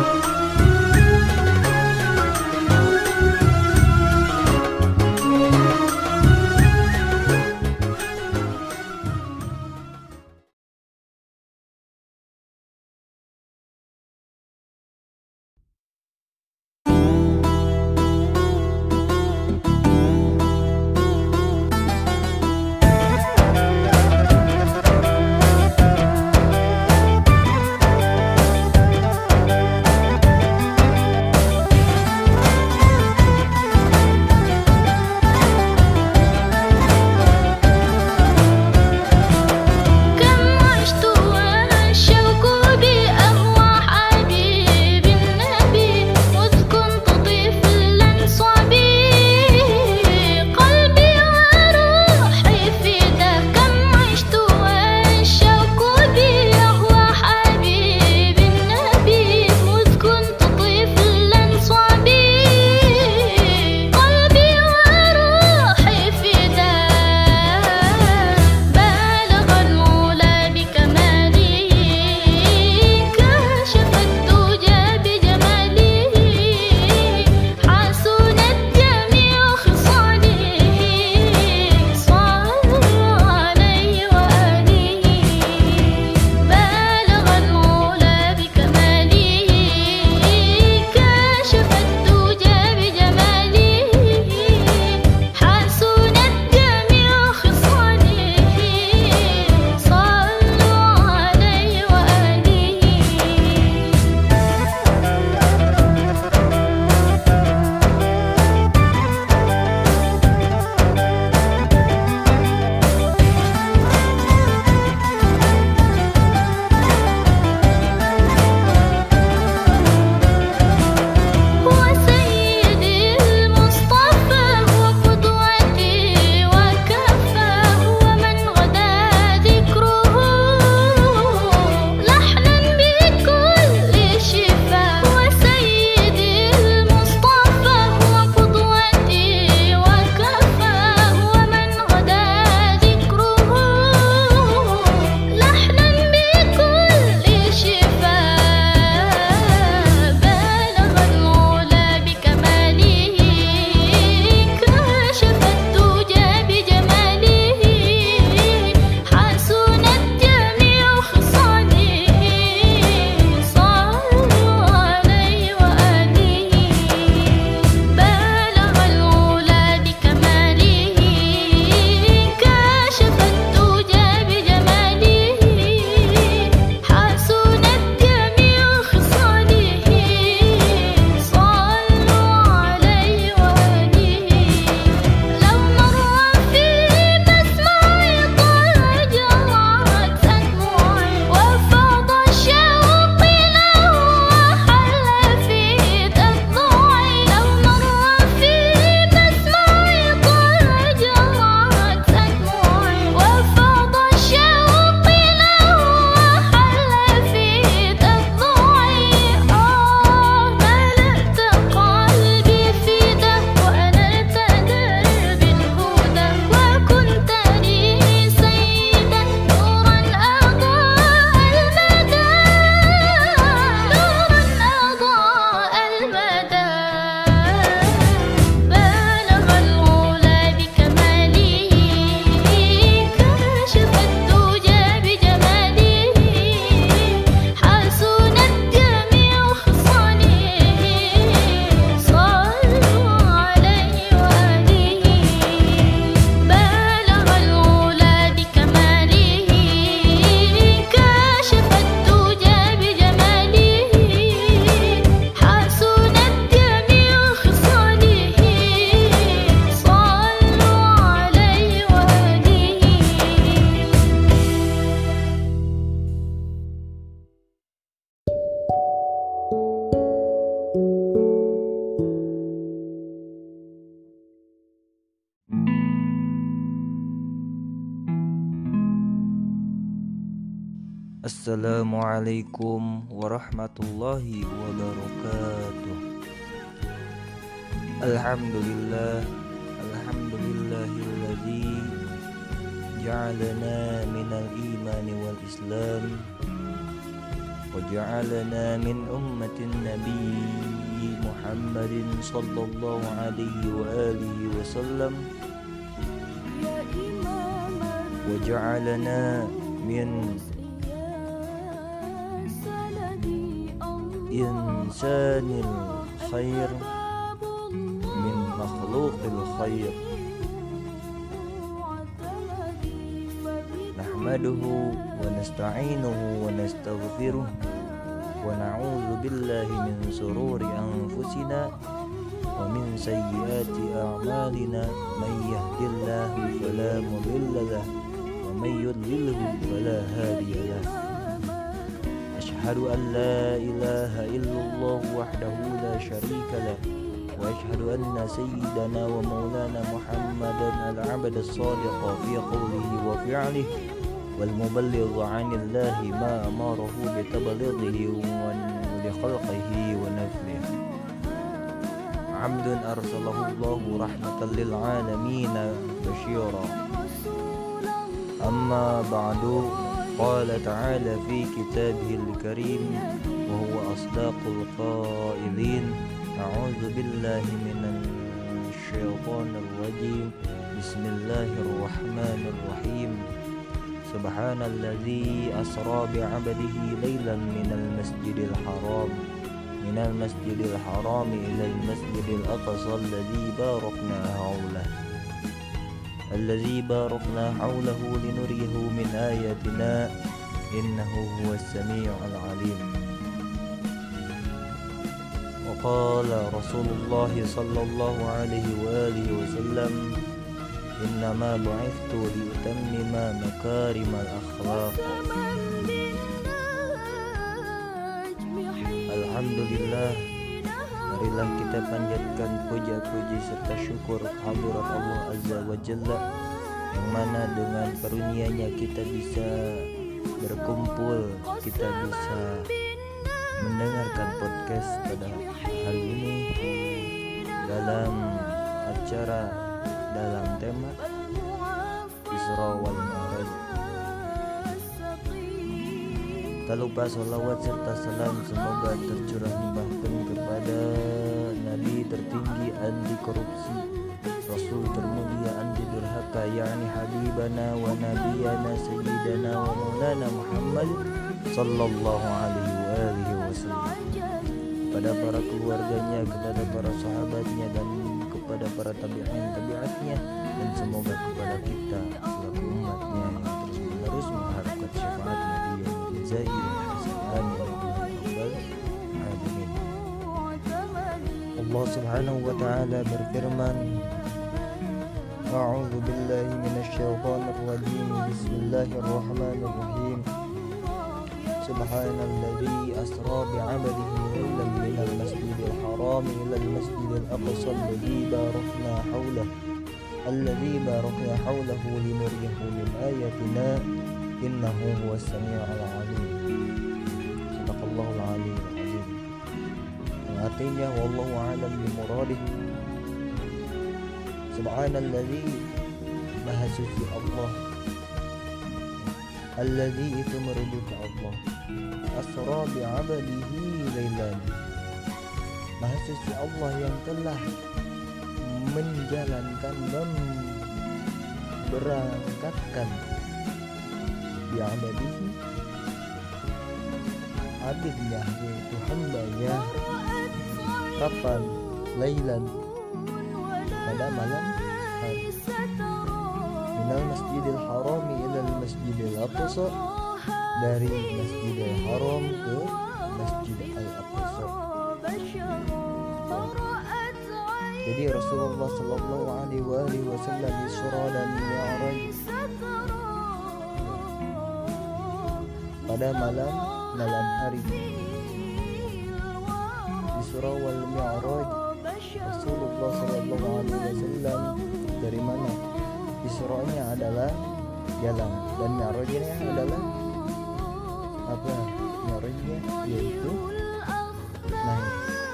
Assalamualaikum warahmatullahi wabarakatuh. Alhamdulillah, alhamdulillahilladzi ja'alana minal imani wal islam وجعلنا من أمة النبي محمد صلى الله عليه وآله وسلم وجعلنا من إنسان الخير من مخلوق الخير نحمده ونستعينه ونستغفره ونعوذ بالله من شرور أنفسنا ومن سيئات أعمالنا من يهد الله فلا مضل له ومن يضلله فلا هادي له أشهد أن لا إله إلا الله وحده لا شريك له وأشهد أن سيدنا ومولانا محمدا العبد الصادق في قوله وفعله والمبلغ عن الله ما أمره بتبليغه ولخلقه ونفله عبد أرسله الله رحمة للعالمين بشيرا أما بعد قال تعالى في كتابه الكريم وهو أصدق القائلين أعوذ بالله من الشيطان الرجيم بسم الله الرحمن الرحيم سبحان الذي أسرى بعبده ليلا من المسجد الحرام إلى المسجد الأقصى الذي باركنا حوله لنريه من آياتنا إنه هو السميع العليم وقال رسول الله صلى الله عليه وآله وسلم إنما بعثت لأتمم مكارم الأخلاق. Alhamdulillah, marilah kita panjatkan puja-puji serta syukur kehadirat Allah Azza wa Jalla, yang mana dengan karunia-Nya kita bisa berkumpul, kita bisa mendengarkan podcast pada hari ini dalam acara dalam tema Isra wal Mi'raj. Tak lupa salawat serta salam semoga tercurah limpahkan kepada Nabi tertinggi anti korupsi, Rasul termulia anti durhaka, yakni Habibana wa Nabiyana Sayyidana wa Maulana Muhammad sallallahu alaihi wasallam, kepada para keluarganya, kepada para sahabatnya, dan kepada para tabi'atnya, dan semoga kepada kita selaku umatnya yang terus-menerus mengharapkan syafaat Nabi yang jazair hasan ya rabbal alamin. Allah Subhanahu wa taala berfirman, A'udzu billahi minasyaitonir rajim. Bismillahirrahmanirrahim. Subhanalladzi asra bi'abdihi laylan minal masjidil haram ilal masjidil aqsa alladzi barakna hawlahu linuriyahu min ayatina innahu huwas samii'ul 'aliim. Sadaqallahul 'aliyyul 'azim. Yang artinya wallahu a'lam bimuradih. Subhanalladzi, maha suci Allah, alladzi itu merujuk Allah, asra bi'abdihi laylan, maha suci Allah yang telah menjalankan, memberangkatkan bi'abdihi, abidnya yaitu hambanya, kapan? Laylan, pada malam hari, minal masjidil harami ilal masjidil aqsa, dari masjidil haram ke masjid al-aqsa. Jadi Rasulullah sallallahu alaihi wasallam Isra dan Mi'raj pada malam hari. Isra wal Mi'raj Rasulullah sallallahu alaihi wasallam dari mana? Isra-nya adalah jalan dan Mi'rajnya adalah apa? Mi'rajnya yaitu naik.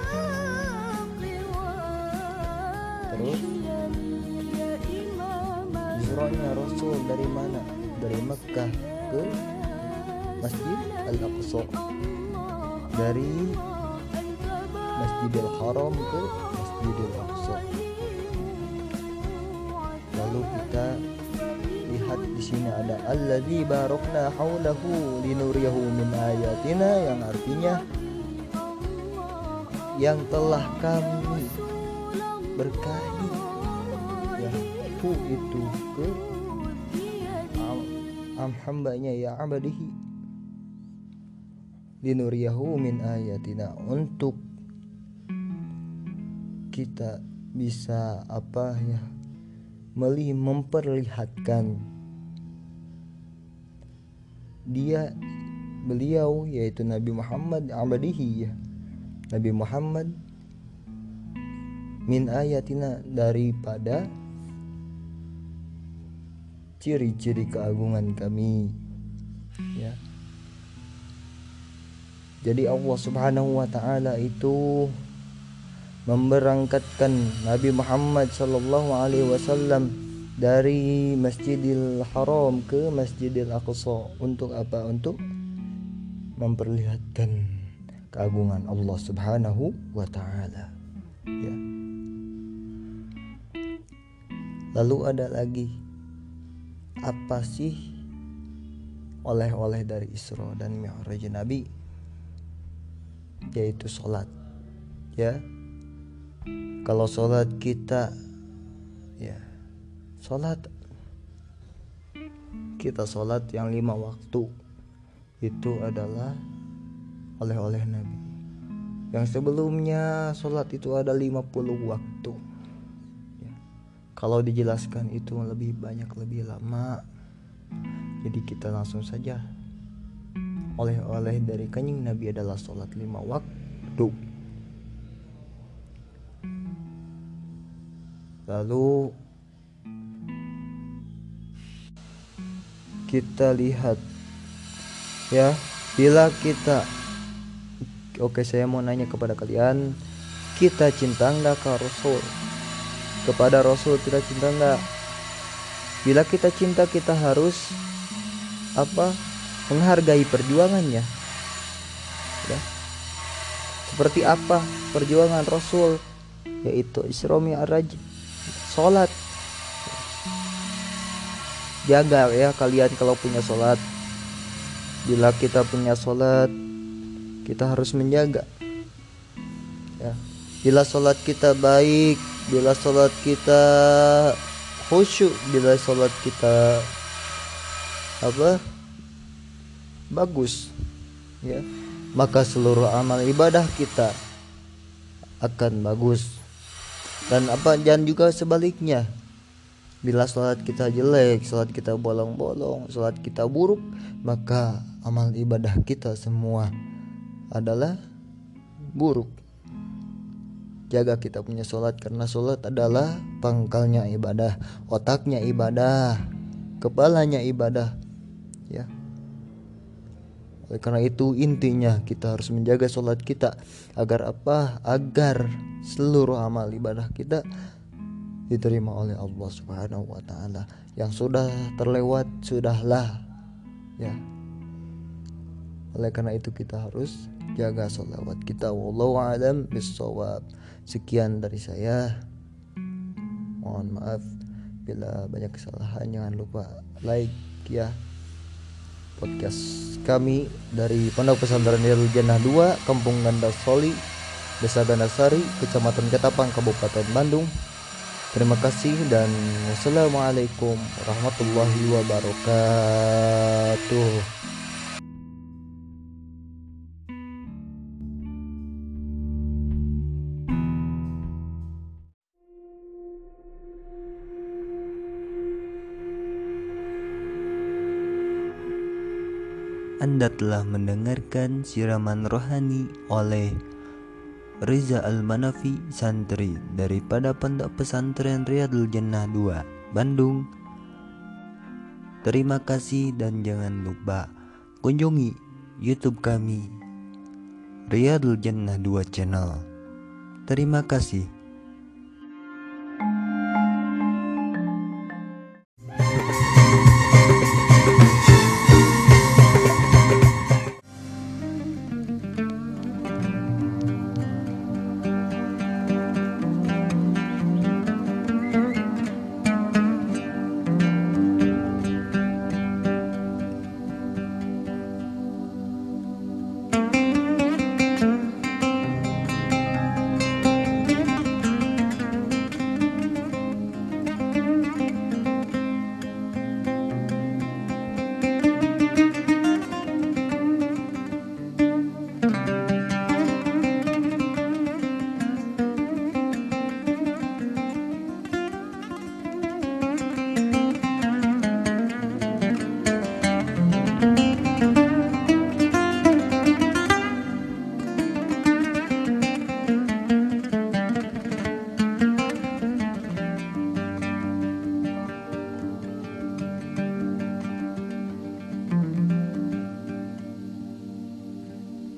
Terus Isra-nya Rasul dari mana? Dari Mekkah ke Masjid Al-Aqsa. dari Masjidil Haram ke Masjidil Aqsa. Lalu kita lihat di sini ada alladzi barakna haulahu linuriyahu min ayatina, yang artinya yang telah kami berkahi, ya, itu ke hambanya, ya abadihi, linuriyahu min ayatina, untuk kita bisa memperlihatkan beliau, yaitu Nabi Muhammad, abadihi, ya, Nabi Muhammad, min ayatina, daripada ciri-ciri keagungan kami, ya. Jadi Allah Subhanahu wa ta'ala itu memberangkatkan Nabi Muhammad sallallahu alaihi wasallam dari Masjidil Haram ke Masjidil Aqsa untuk apa? Untuk memperlihatkan keagungan Allah Subhanahu wa ta'ala, ya. Lalu ada lagi, apa sih oleh-oleh dari Isra dan Mi'raj Nabi? Yaitu sholat, ya. Kalau sholat kita, ya, kita sholat yang 5 waktu itu adalah oleh-oleh Nabi. Yang sebelumnya sholat itu ada 50 waktu, ya. Kalau dijelaskan itu lebih banyak, lebih lama. Jadi kita langsung saja, oleh-oleh dari Kanjeng Nabi adalah sholat 5 waktu. Lalu kita lihat, ya, bila kita, saya mau nanya kepada kalian, kita cinta enggak ke Rasul? Kepada Rasul kita cinta enggak? Bila kita cinta, kita harus menghargai perjuangannya, ya. Seperti apa perjuangan Rasul? Yaitu Isra Mi'raj, sholat. Jaga, ya, kalian kalau punya sholat. Bila kita punya sholat, kita harus menjaga, ya. Bila sholat kita baik, bila sholat kita khusyuk, bila sholat kita bagus, ya, maka seluruh amal ibadah kita akan bagus. Dan juga sebaliknya, bila sholat kita jelek, sholat kita bolong-bolong, sholat kita buruk, maka amal ibadah kita semua adalah buruk. Jaga kita punya sholat, karena sholat adalah pangkalnya ibadah, otaknya ibadah, kepalanya ibadah, ya. Oleh karena itu intinya kita harus menjaga sholat kita agar agar seluruh amal ibadah kita diterima oleh Allah Subhanahu wa ta'ala. Yang sudah terlewat, sudahlah, ya. Oleh karena itu kita harus jaga sholawat kita. Wallahu a'lam bishawab. Sekian dari saya. Mohon maaf bila banyak kesalahan. Jangan lupa like, ya, podcast kami dari Pondok Pesantren Riyadul Jannah 2, Kampung Gandasoli, Desa Gandasari, Kecamatan Ketapang, Kabupaten Bandung. Terima kasih dan wassalamualaikum warahmatullahi wabarakatuh. Anda telah mendengarkan siraman rohani oleh Reza Al-Manafi, santri daripada Pondok Pesantren Riyadul Jannah 2, Bandung. Terima kasih dan jangan lupa kunjungi YouTube kami, Riyadul Jannah 2 Channel. Terima kasih.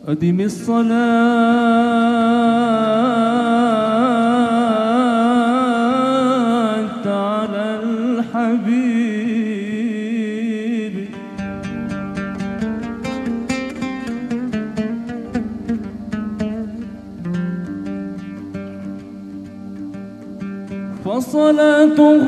أدم الصلاة على الحبيب فصلاته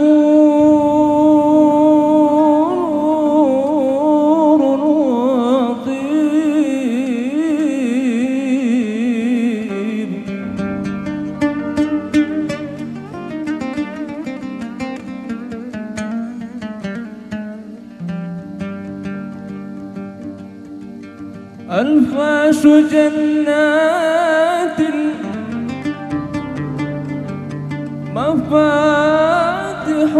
أنفاس جنات مفاتح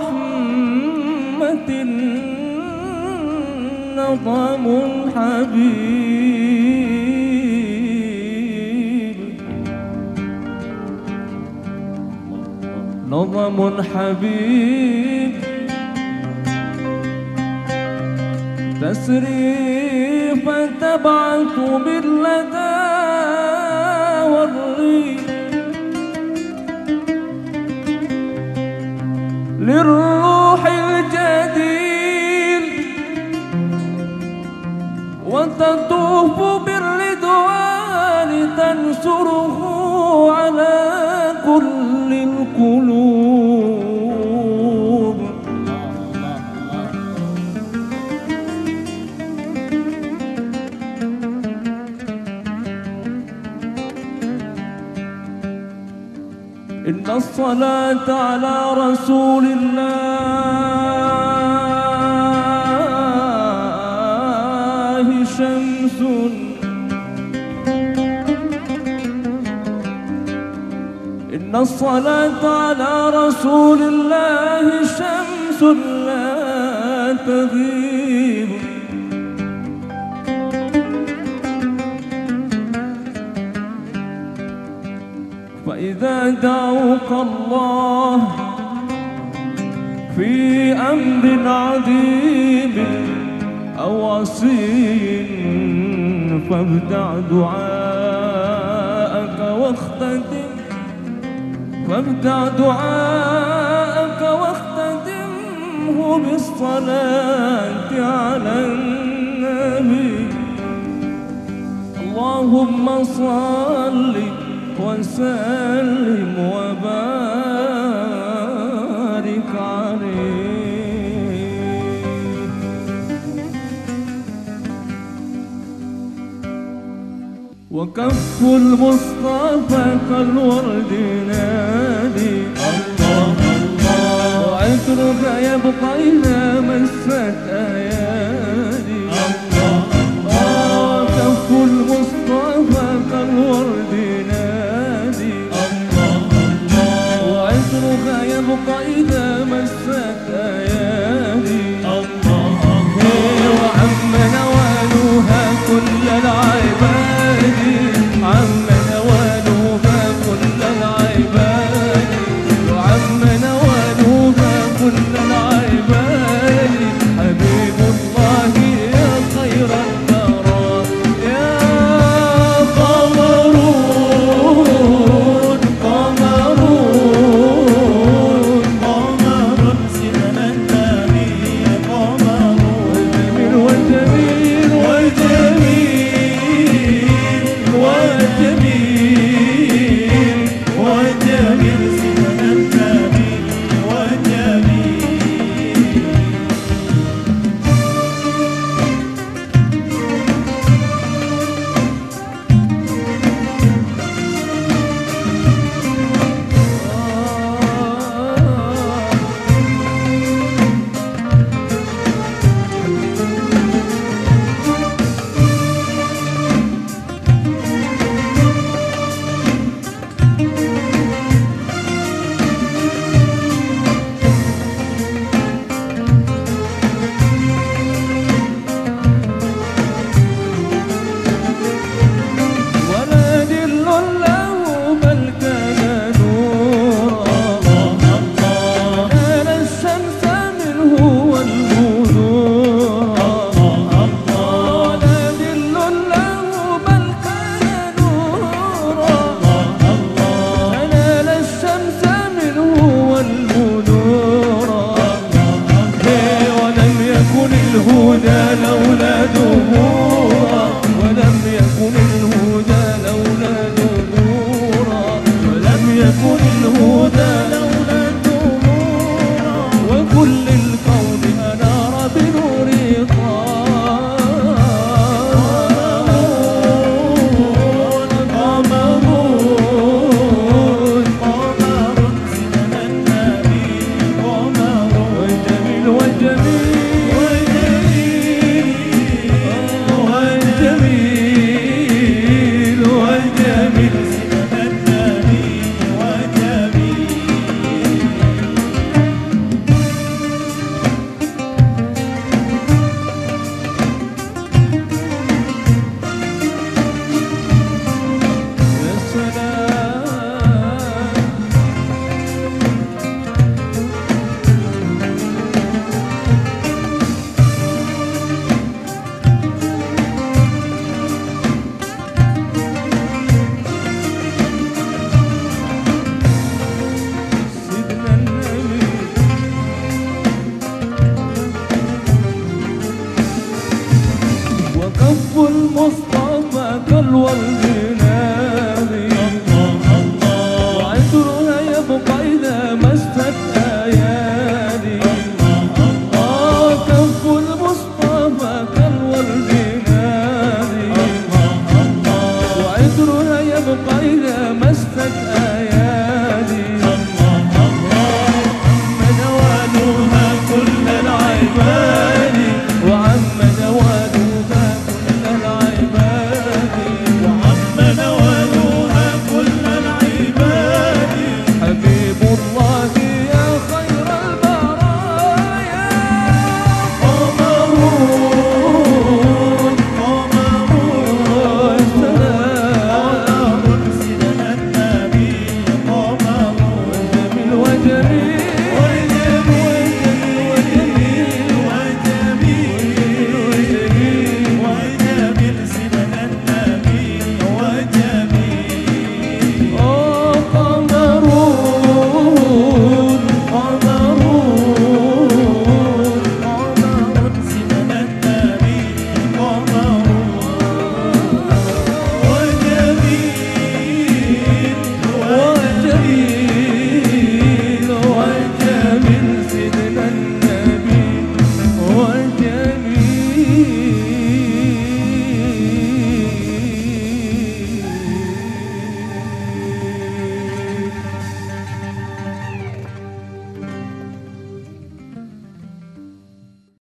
رحمة نظم حبيب نظم حبيب تسري فتبعث باللدى والريح للروح الجديد وتطوف بالرضوان تنشره على كل القلوب إن الصلاة على رسول الله شمس إن الصلاة على رسول الله شمس لا تغيب فإذا دعوك الله في أمر عظيم أو عصي فابدع دعاءك واختتمه بالصلاة على النبي اللهم صلِّ وسلم وبارك عليه وكف المصطفى كالورد نادي الله الله وعطرك يبقى إذا مست آيات